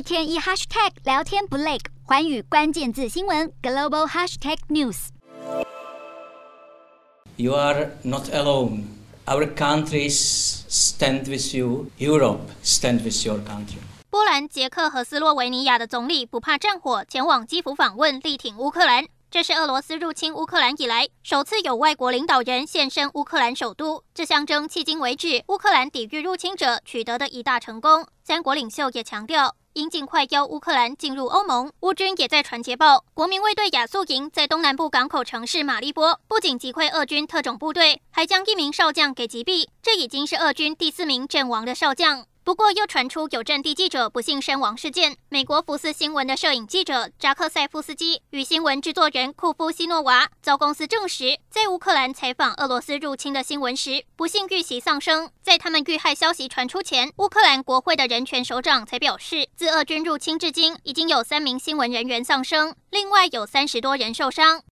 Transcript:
天一 hashtag 聊天不累，寰宇關鍵字新聞 global hashtag news。 You are not alone. Our countries stand with you. Europe stand with your country. 波蘭、捷克和斯洛維尼亞的總理不怕戰火，前往基輔訪問，力挺烏克蘭。這是俄羅斯入侵烏克蘭以來首次有外國領導人現身烏克蘭首都，這象徵迄今為止烏克蘭抵禦入侵者取得的一大成功。三國領袖也強調，應盡快邀烏克蘭進入歐盟。烏軍也在傳捷報，國民衛隊亞速營在東南部港口城市馬利波，不僅擊潰俄軍特種部隊，還將一名少將給擊斃。這已經是俄軍第4名陣亡的少將。不過，又傳出有戰地記者不幸身亡事件。美國福斯新聞的攝影記者扎克塞夫斯基與新聞製作人庫夫西諾娃遭公司證實，在烏克蘭採訪俄羅斯入侵的新聞時，不幸遇襲喪生。在他們遇害消息傳出前，烏克蘭國會的人權首長才表示，自俄軍入侵至今，已經有3名新聞人員喪生，另外有30多人受傷。